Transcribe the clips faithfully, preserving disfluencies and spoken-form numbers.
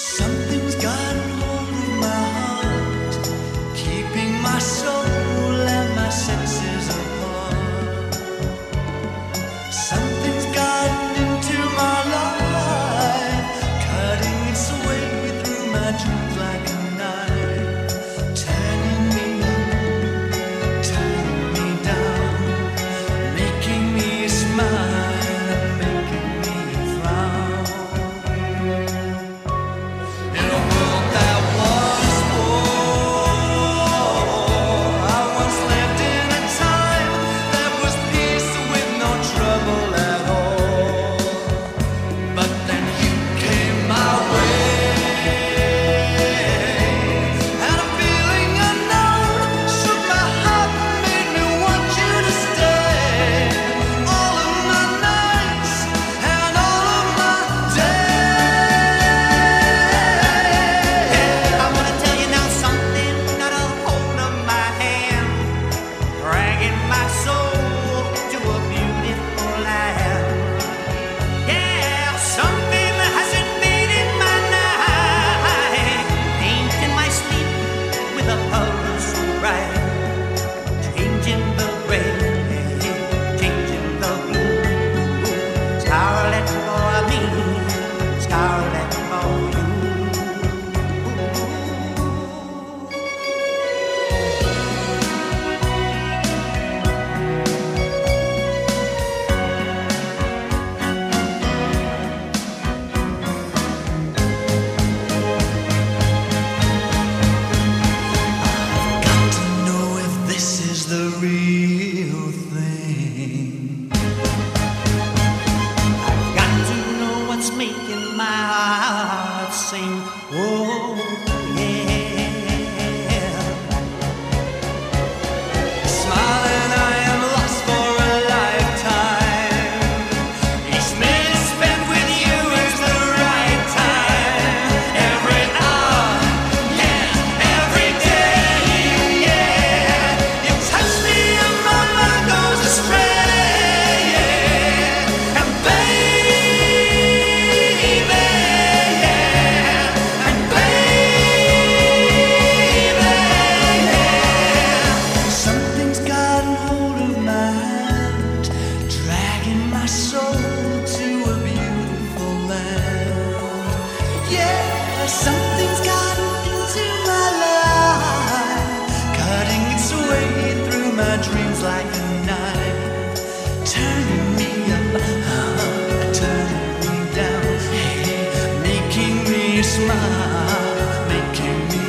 Something's gotten hold of my heart, keeping my soul and my senses apart. Something's gotten into my life, cutting its way through my dreams like a knife, turning me up, turning me down, making me smile and making me frown. In a world that was war, I once lived in a time that was peace with no trouble at all. But then you came my way, and a feeling unknown shook my heart, made me want you to stay. All of my nights and all of my days. I wanna tell you now something got a hold of my hand, dragging my soul to a beautiful land. Yeah, something has invaded my night, painting my sleep with a color so bright, changing the gray, changing the blue. Scarlet for me, scarlet for you. Got to know if this is the real thing. Got to know what's making my heart sing. Oh, yeah. Smiling, I am lost for a lifetime. Each minute spent with you is the right time. Every hour, yeah, every day, yeah. You touch me and my mind goes astray, yeah. And baby, yeah. And baby, yeah. Something's gotten hold of my hand, dragging my soul to a beautiful land. Yeah, something's gotten into my life, cutting its way through my dreams like a knife, turning me up, uh, turning me down, hey, making me smile, making me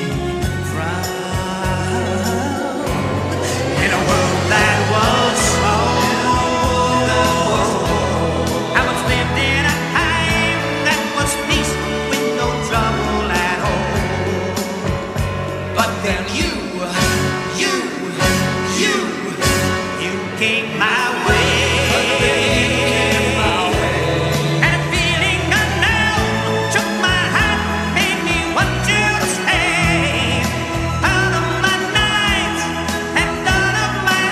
frown. In a world that was small, I once lived in a time that was peace with no trouble at all. But then you, you, you, you came my way. And a feeling unknown took my heart, made me want you to stay. Out of my nights and out of my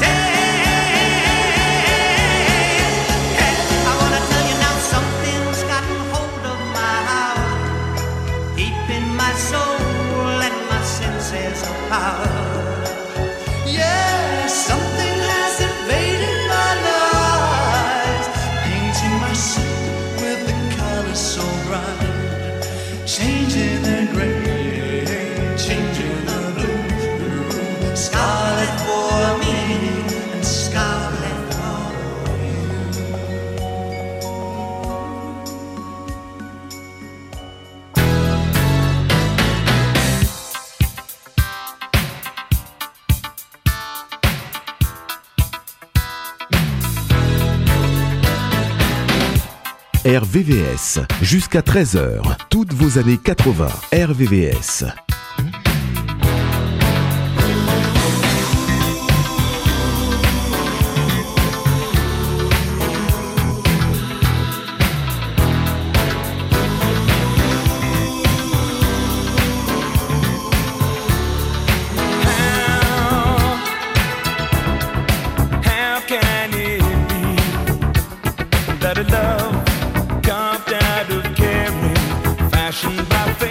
days. Yeah, I wanna tell you now something's gotten hold of my heart, keeping my soul and my senses apart. Yeah, something has invaded my life, painting my soul with the colors so bright, changing the gray, changing the blue. Scarlet for me and scarlet for you. R V V S, jusqu'à treize heures, toutes vos années quatre-vingts, R V V S. How can it be that a love carved out of caring, fashioned by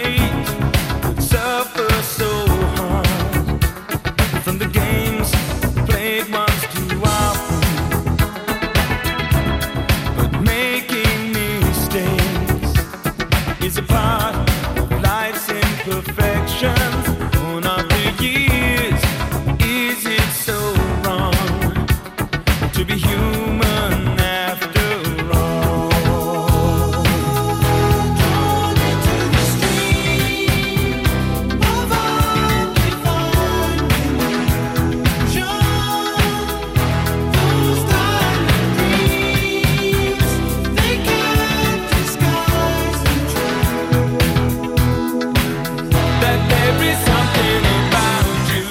is a part of life's imperfections. One of the years, is it so wrong to be human after all? Drawn into the stream of undefined illusion, those diamond dreams, they can't disguise the truth that there is something about you,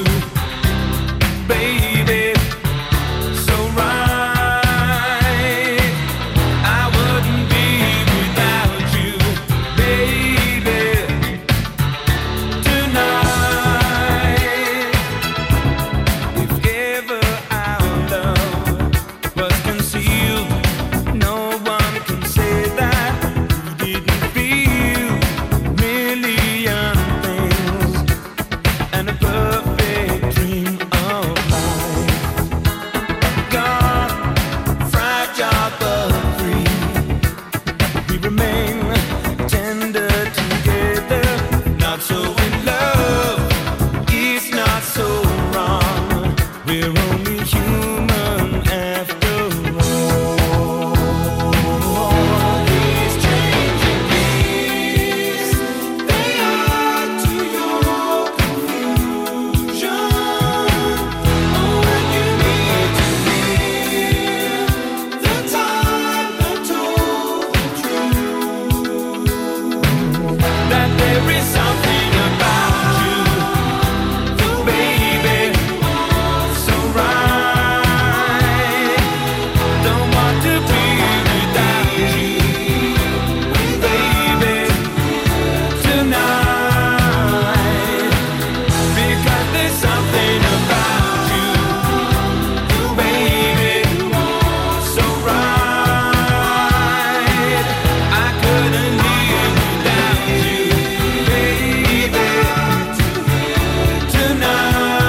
baby, so right. I wouldn't be without you, baby, tonight. If ever our love was concealed, no one can say that we didn't feel million things and a perfect dream of life. Gone, fragile but free, we remain tender together. Not so in love, it's not so wrong. We're only human after all. These changing years, they add to your confusion. Oh, when you need to hear the time that told the truth that there is something about you, baby, so right. Don't want to be without you, baby, tonight. Because there's something about you, baby, so right. I couldn't live without you, baby, tonight.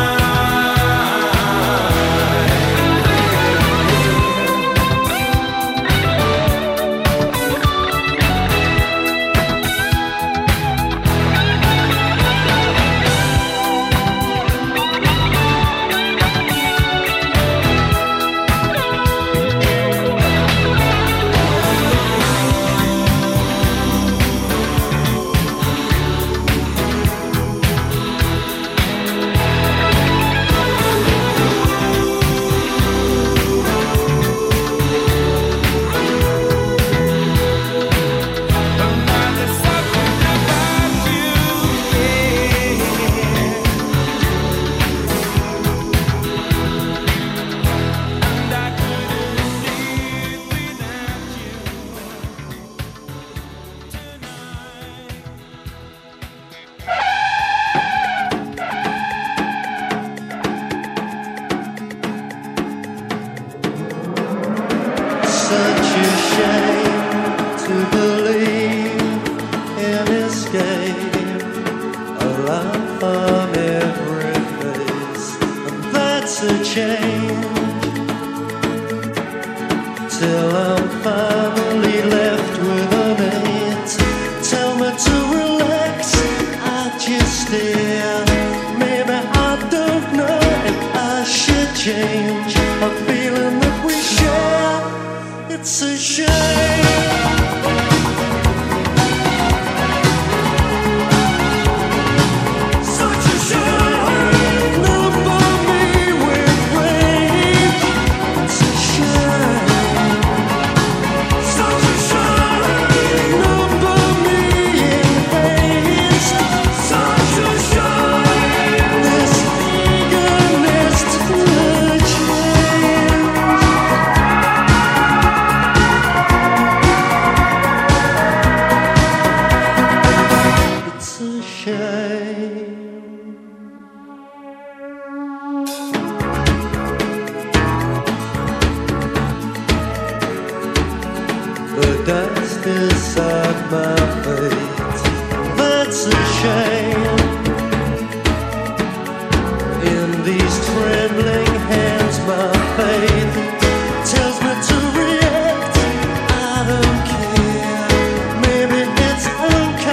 There's something about you, and I couldn't live without you Such a shame to believe in escape, a laugh on every face, and that's a change. Till I'm finally left with an eight. Tell me to relax, I just stare. Maybe I don't know if I should change a feeling that we share. It's a shame. Such a shame. Number me with rage. It's a shame. Such a shame. Number me in haste. Such a shame. This eagerness to change. It's a shame. The dust inside my face, that's a shame. In these trembling hands, my faith tells me to react. I don't care. Maybe it's okay.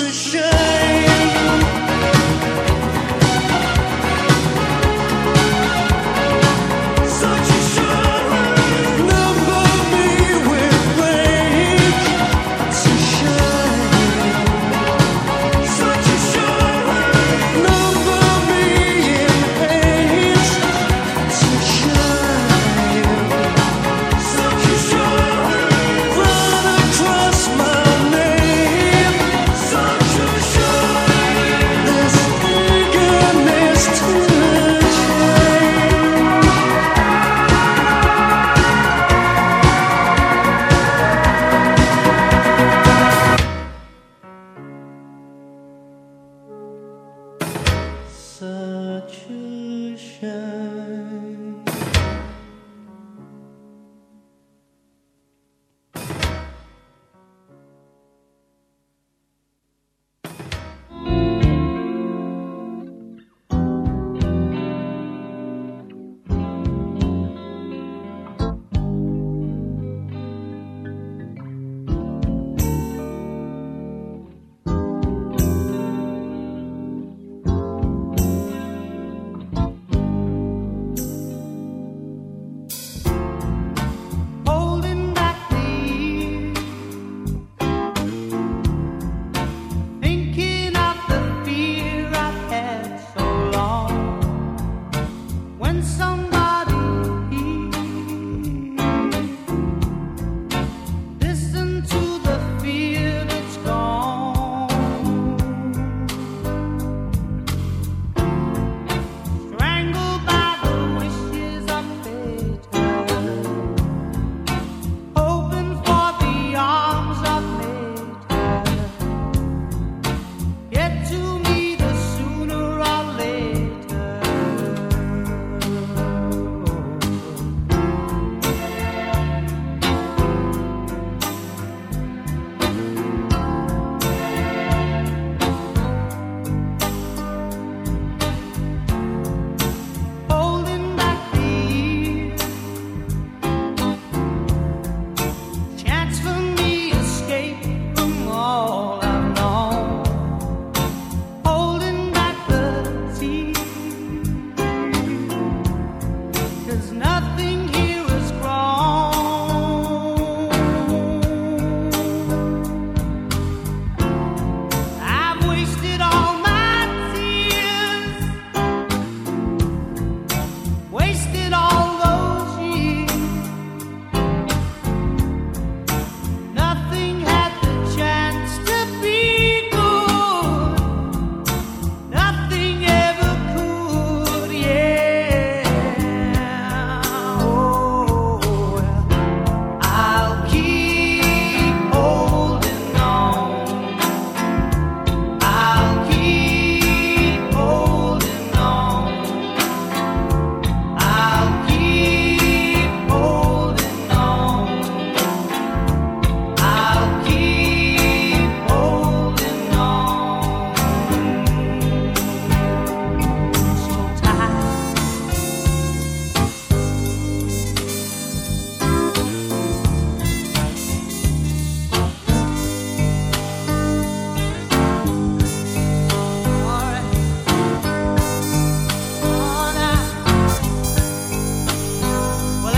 a shame. Such a shame. Number me with rage. It's a shame. Such a shame. Number me in hate. It's a shame. Such a shame. Run across my name. Such a shame. This eagerness to change. Such a shame. Holding back the years, thinking of the fear I've had so long. When somebody listen to the fear that's gone, strangled by the wishes of fate. Hoping for the arms of nature, get to me the sooner or later. Holding back the years, chance for me escape from all I've known. Holding back the tears, 'cause nothing here is grown. I've wasted all my tears, wasted all those years. Nothing had the chance to be good. Nothing ever could, yeah. Oh, I'll keep holding on. I'll keep holding on. I'll keep holding on. I'll keep holding on. So tight. All right. Oh, now. Well,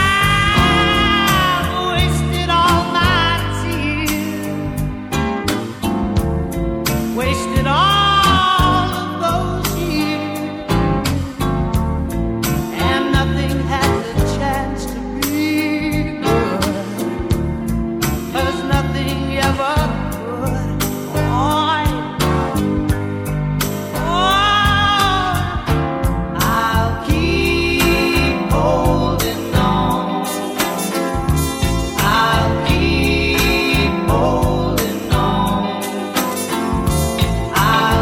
I've wasted all my tears, wasted all of those years, and nothing had the chance to be good, 'cause nothing ever could. Oh, oh, I'll keep holding on. I'll keep holding on. I'll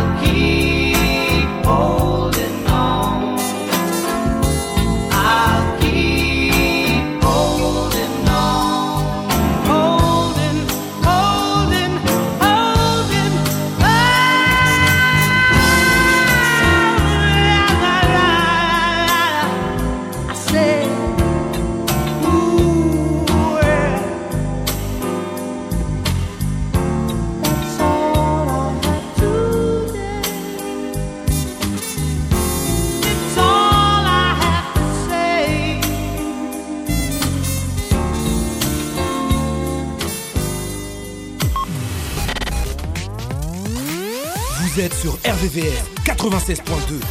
Vous êtes sur R V V S quatre-vingt-seize point deux.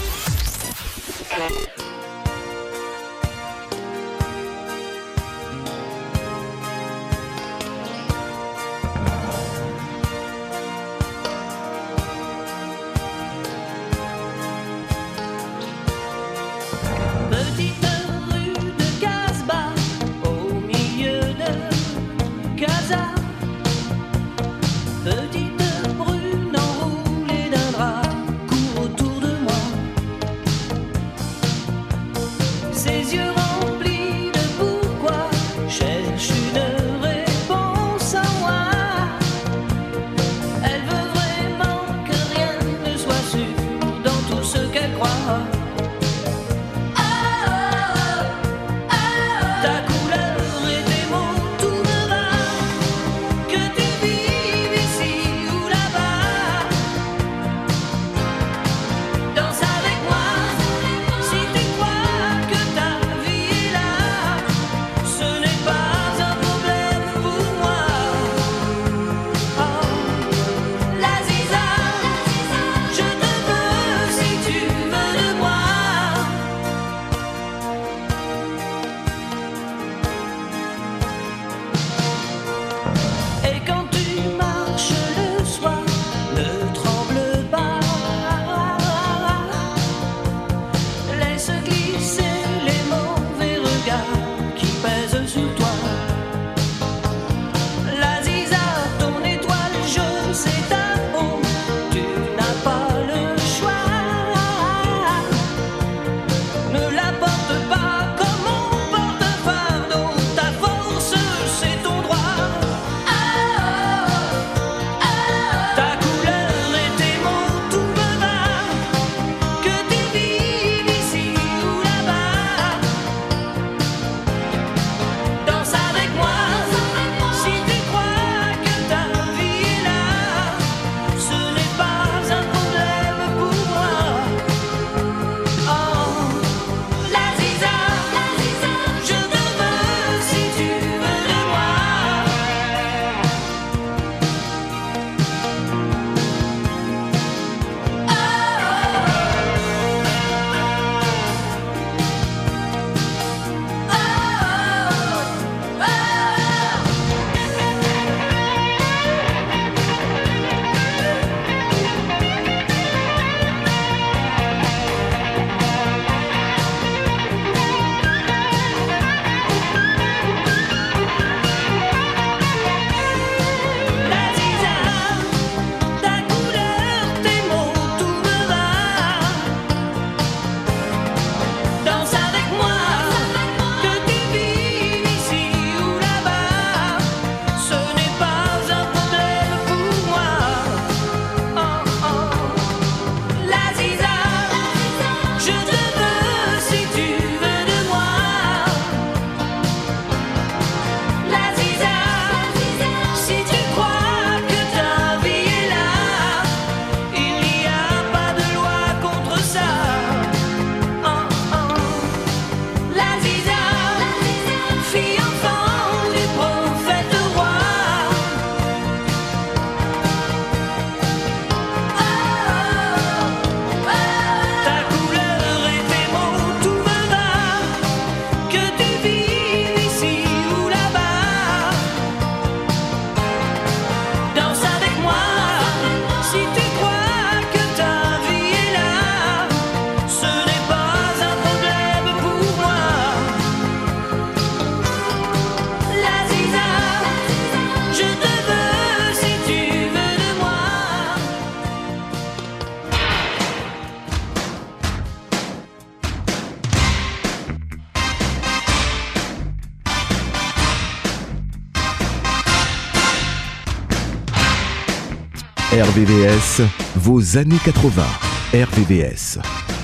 R V V S, vos années quatre-vingts. R V V S.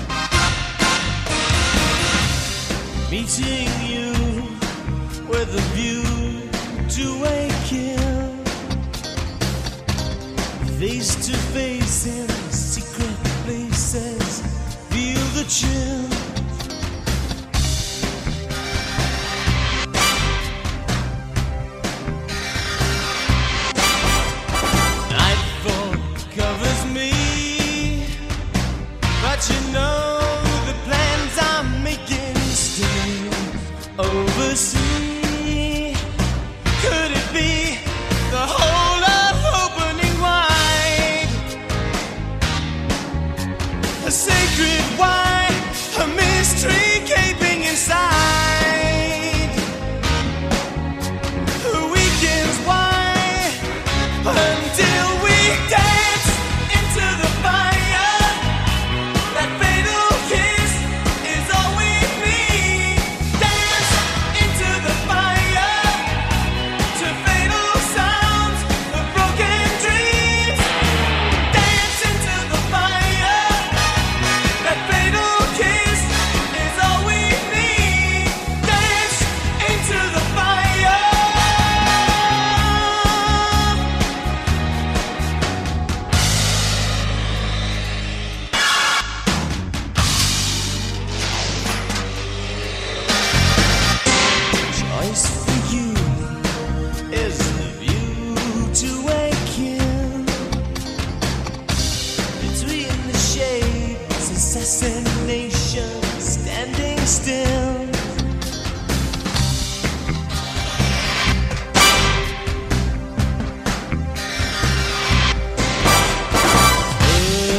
Meeting you with a view to a kill, face to face in secret places, feel the chill. Nightfall covers me.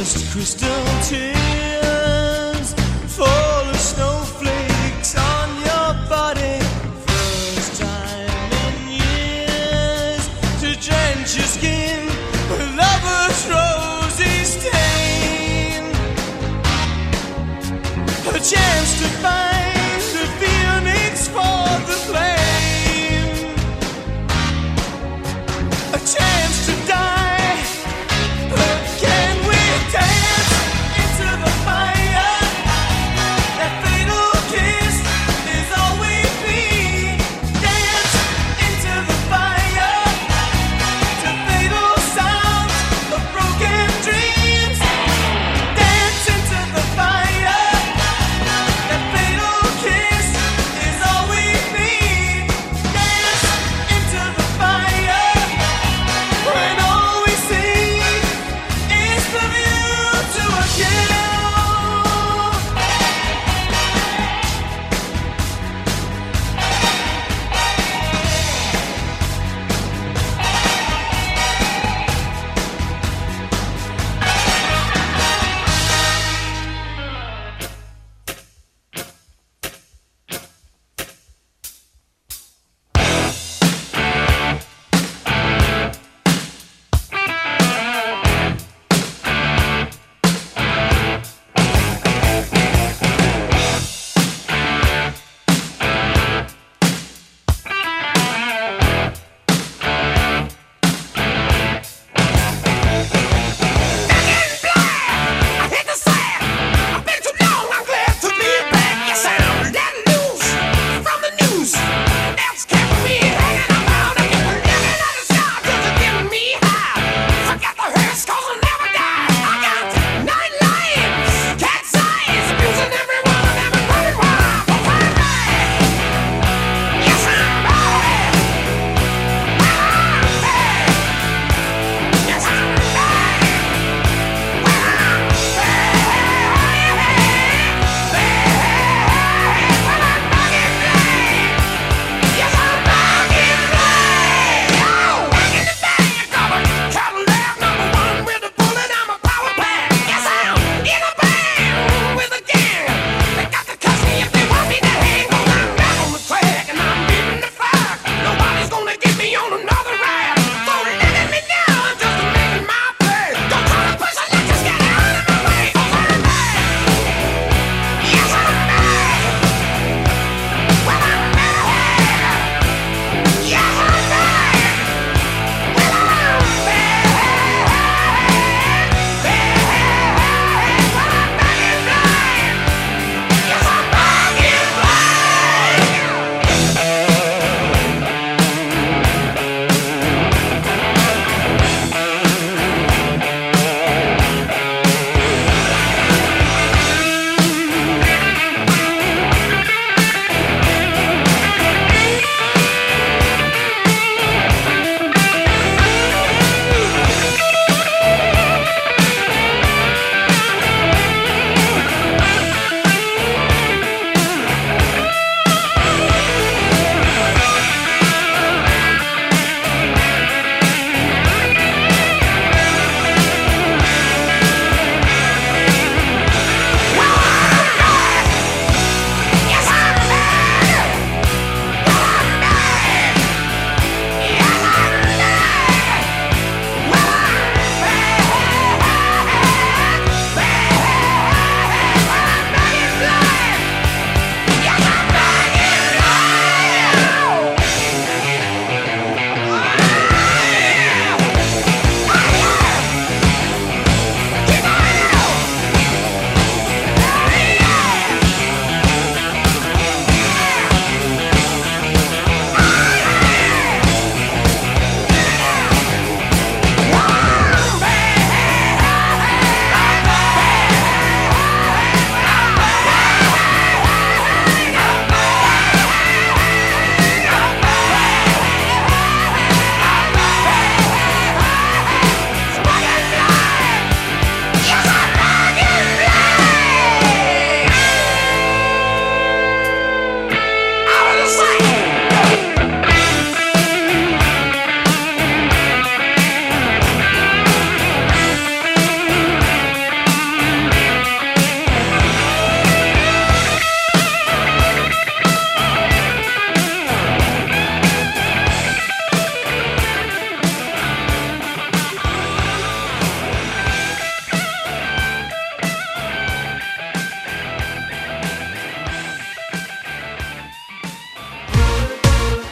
First crystal tears fall as snowflakes on your body. First time in years to drench your skin with lover's rosy stain. A chance to find the phoenix for the flame. A chance to die. But can we dance into the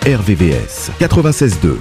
R V V S quatre-vingt-seize deux.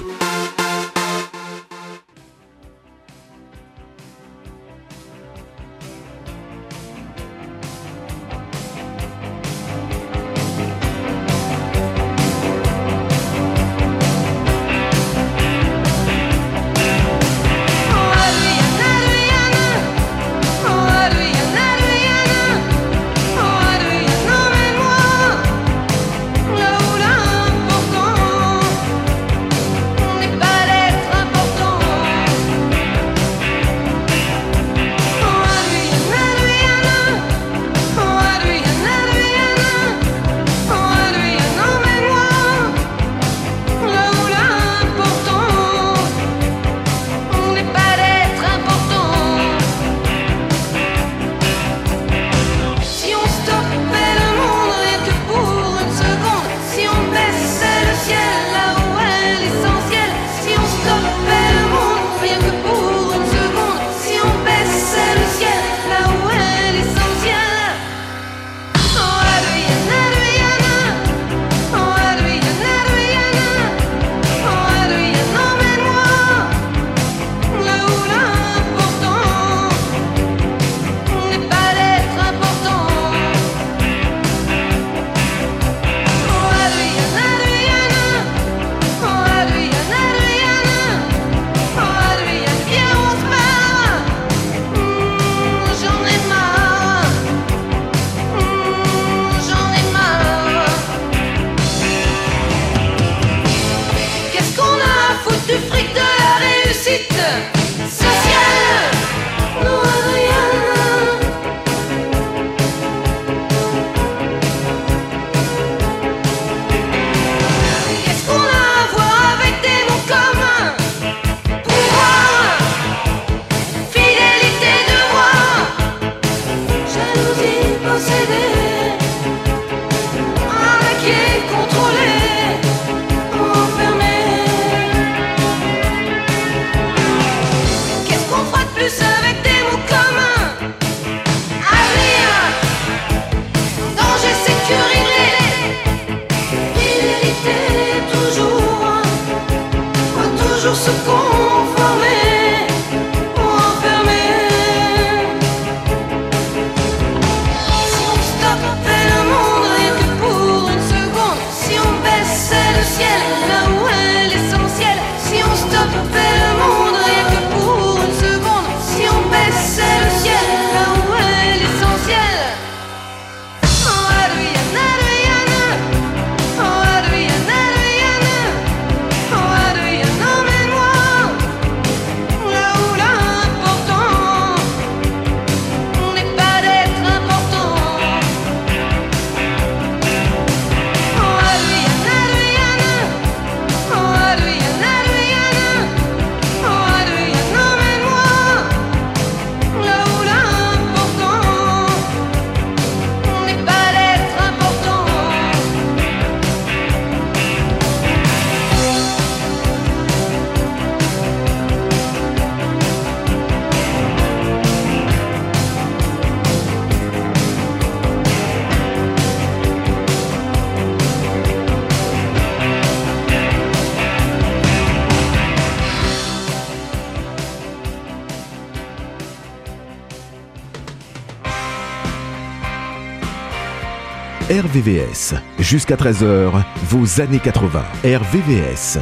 R V V S, jusqu'à treize heures, vos années quatre-vingts. R V V S.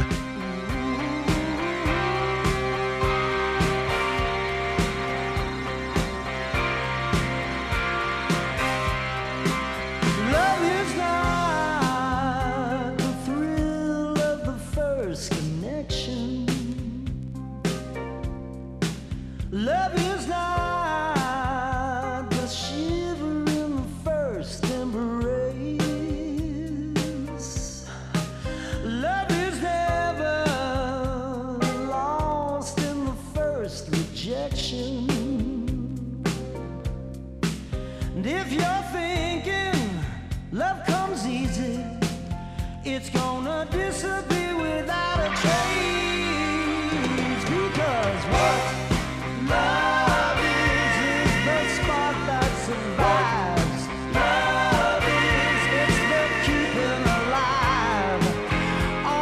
Love is, it's the keeping alive.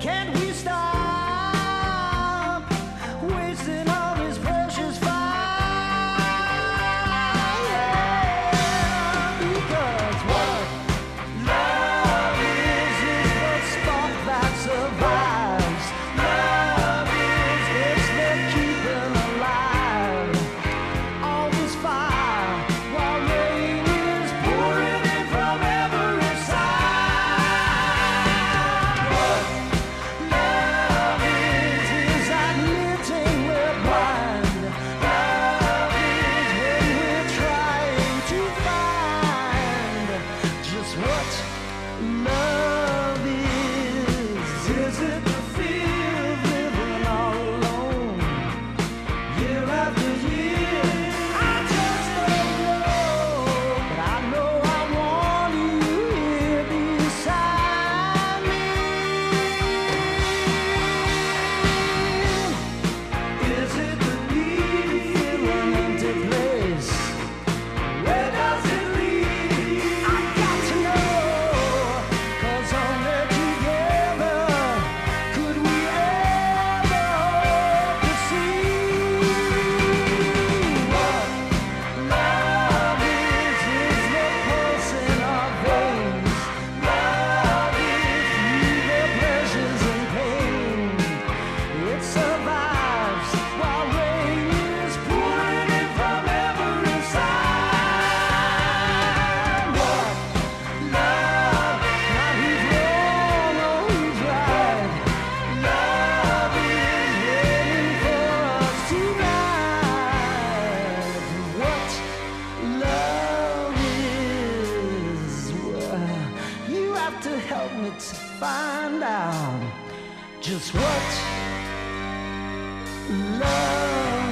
Can't we stop wasting all this precious fire? Yeah, because what love is is the spark that survives. Love is it's the keeping alive all this fire while rain is pouring in from every side. What love is is admitting we're blind. Love is when we're trying to find just what love is. Is it the fear of living all alone, year after year? I just don't know, but I know I want you here beside me. Is it the need in an empty place? Where does it lead? I got to know, 'cause only together could we ever hope to see what love is. Is the pulse in our veins. Love is through the pleasures and pain. It survives while rain is pouring in from every side. What love? Not who's wrong or who's right. Love is waiting for us tonight. What love is, well, you have to help me to find out just what love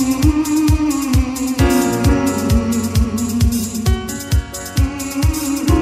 is.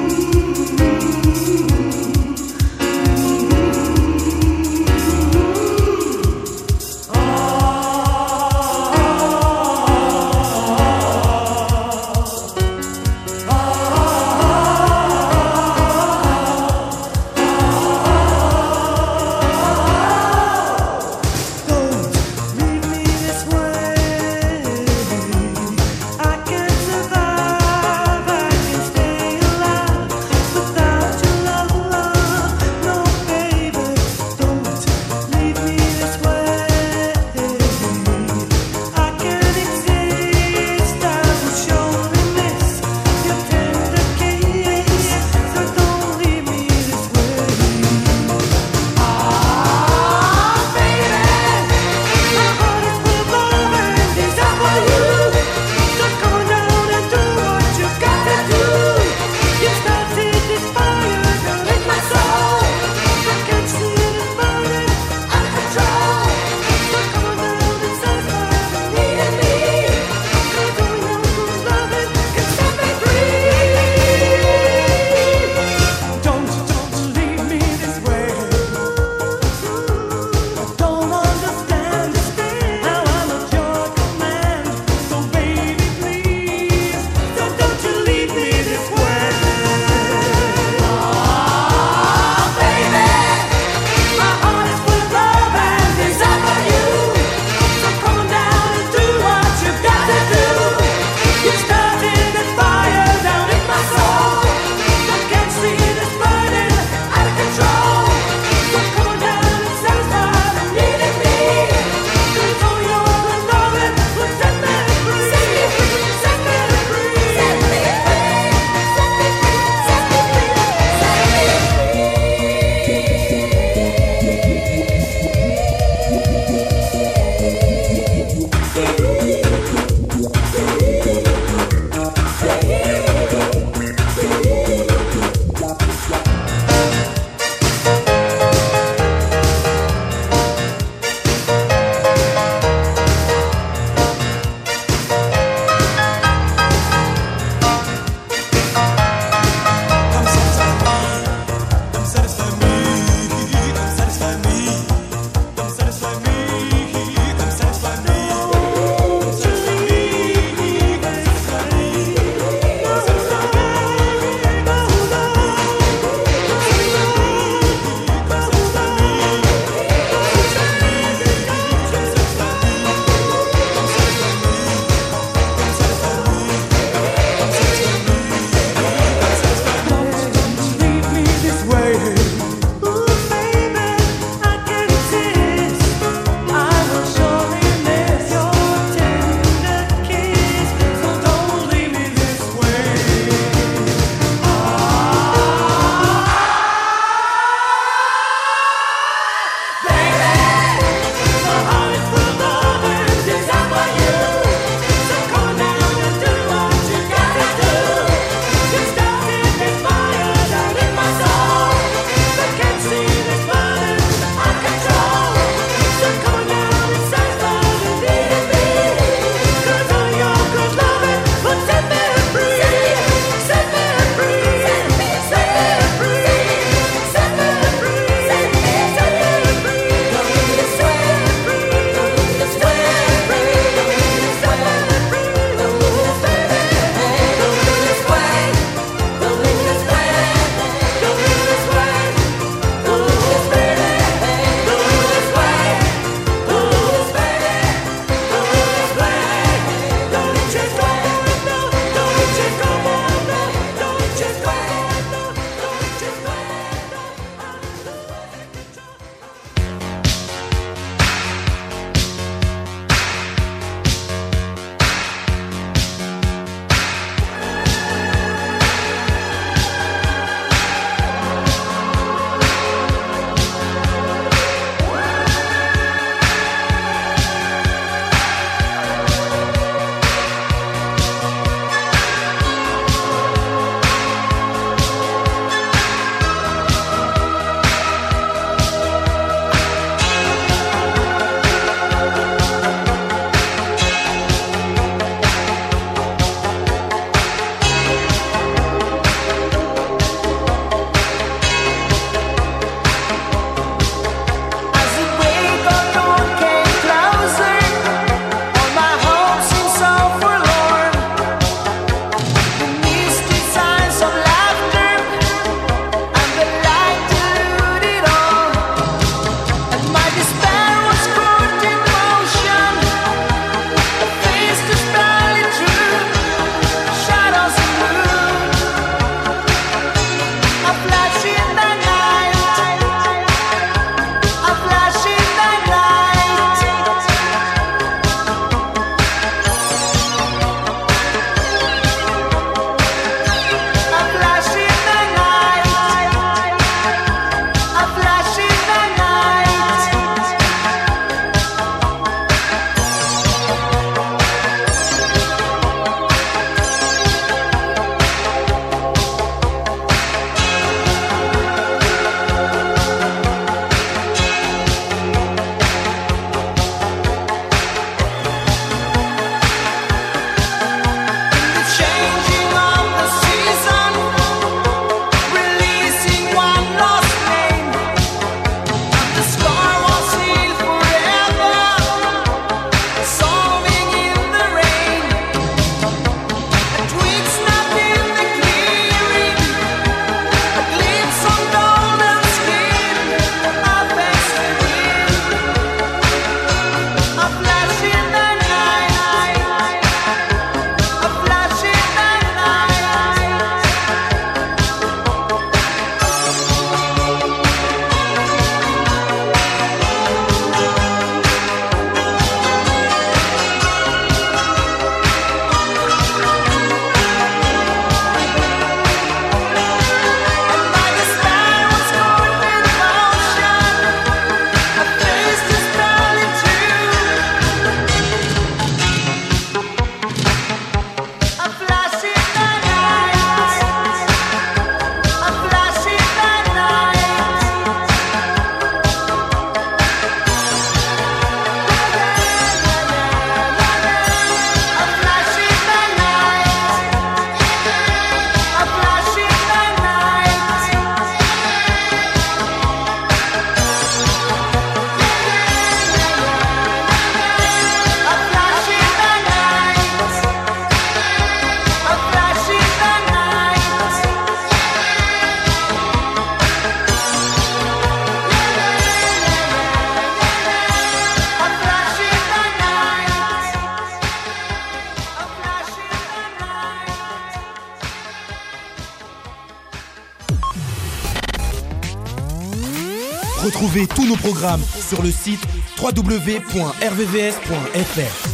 Retrouvez tous nos programmes sur le site w w w point r v v s point f r.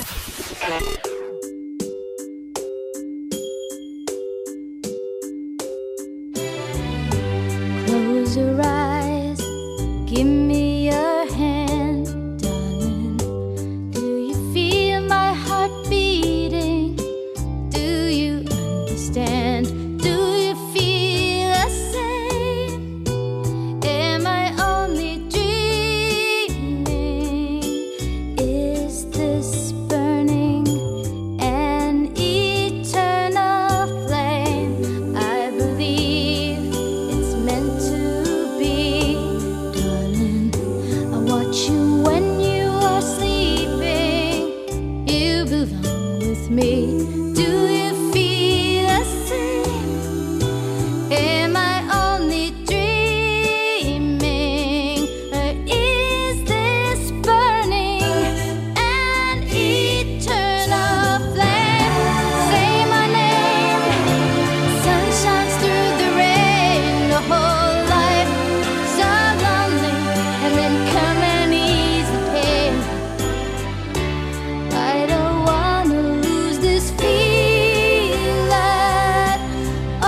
Close your eyes, give me your hand, darling. Do you feel my heart beating? Do you understand? Do you feel the same? Am I only dreaming? Is this burning an eternal flame? I believe it's meant to be, darling. I watch you when you are sleeping. You belong with me. Do you feel the same? Am I only dreaming? Or is this burning an eternal flame? Say my name. Sun shines through the rain. The whole life so lonely, and then come and ease the pain. I don't wanna lose this feeling. Oh.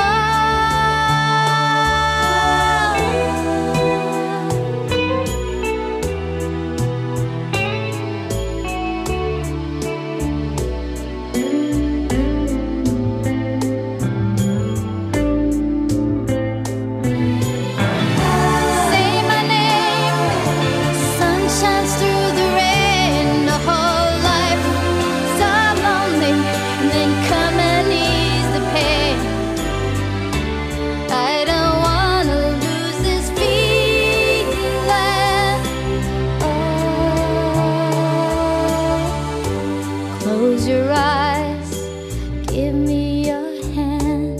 Say my name. Sun shines through the rain. The whole life so lonely, and then come and ease the pain. I don't wanna lose this feeling. Oh. Close your eyes, give me your hand.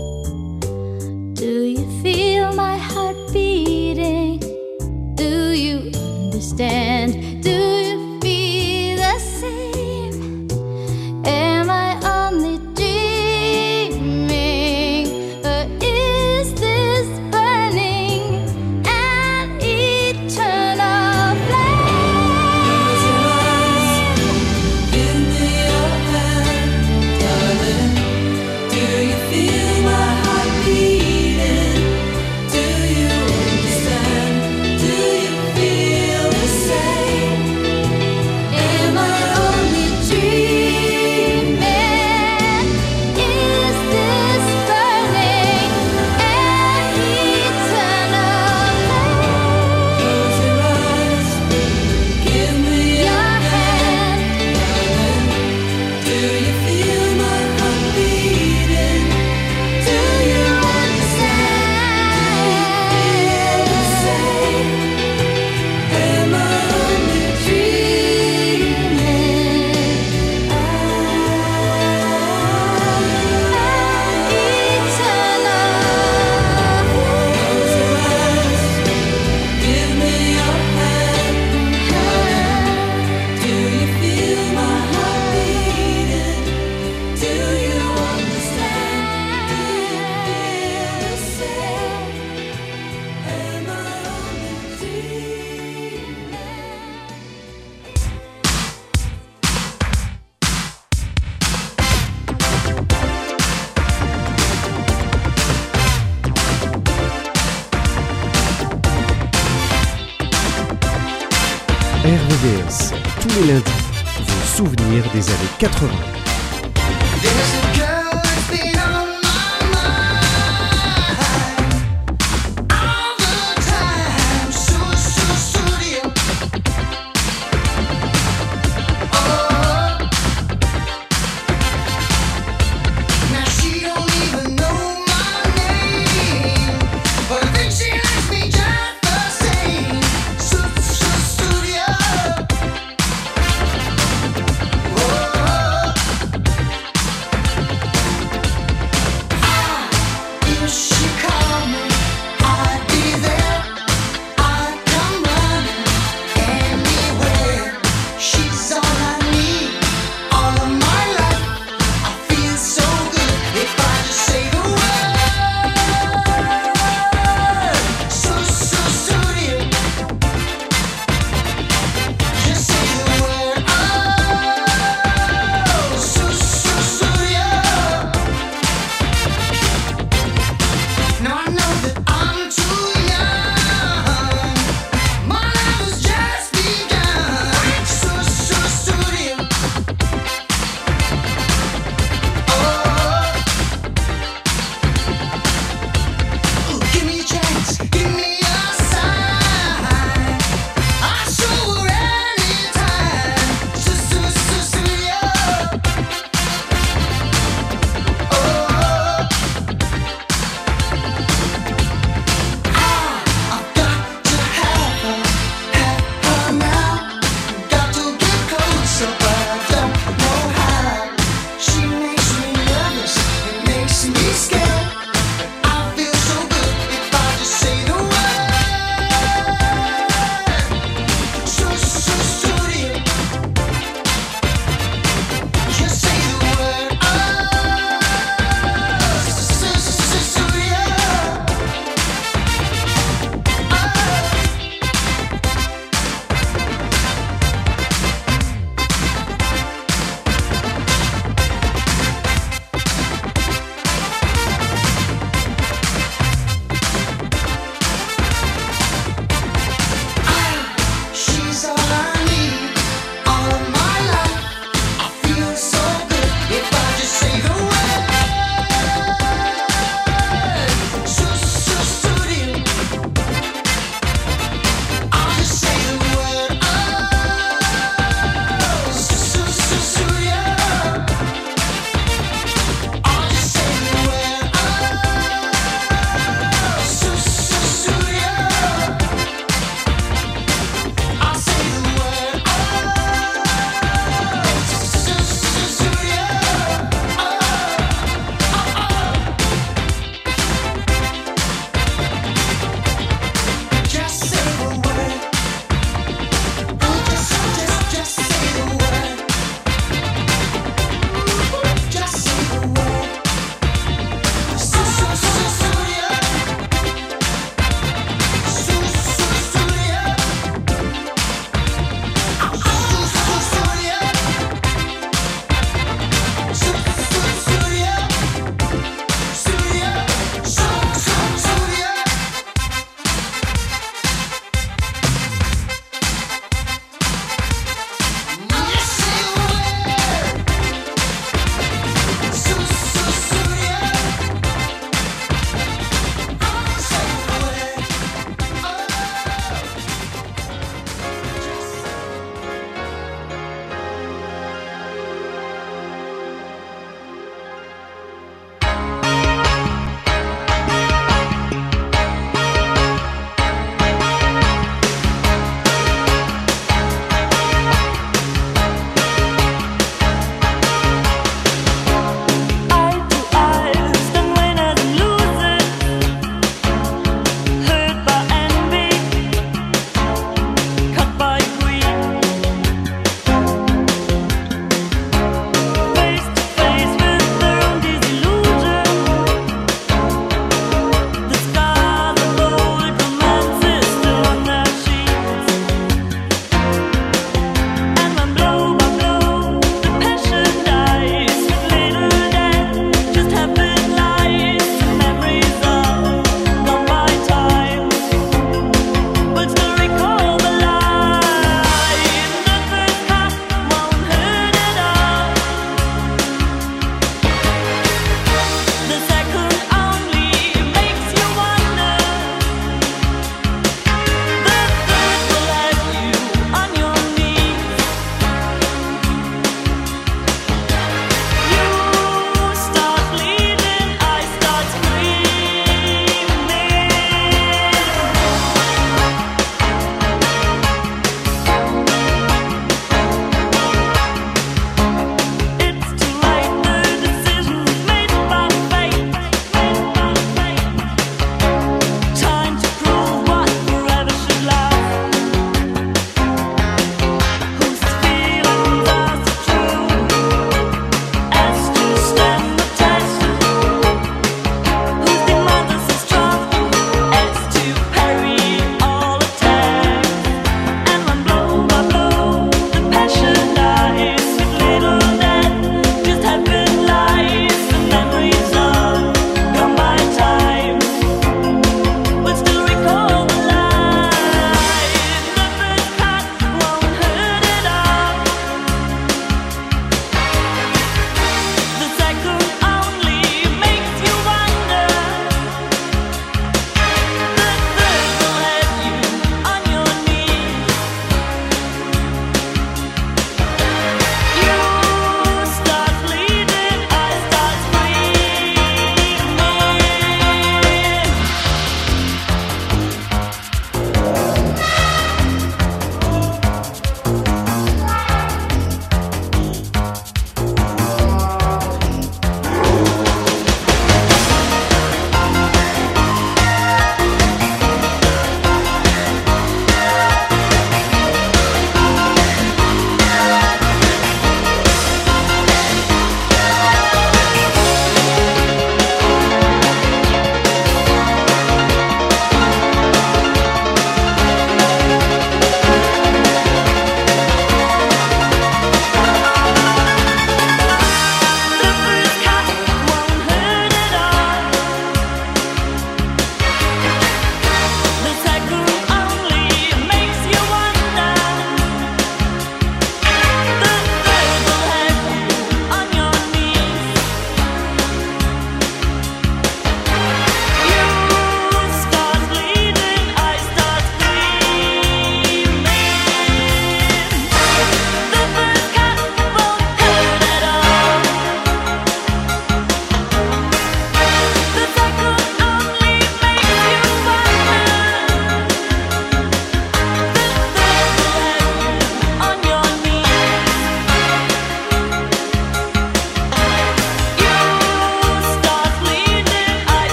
Do you feel my heart beating? Do you understand? Do you feel the same? Am I only dreaming? Or is this burning an eternal flame? Give me your hand, darling. Do you feel my heart beating? Do you understand? Do you feel the same? Am I only dreaming? Is this burning an eternal flame? Close your eyes, give me your hand, darling. Do you feel my heart beating? Do you understand? Do you feel the same? Am I only dreaming? Ah, eternal flame. Close your eyes, give me your hand, do you feel my heart beating? Do you understand? Do you feel the same? Am I only dreaming? R V V S, tous les lundis, vos souvenirs des années quatre-vingts. There's a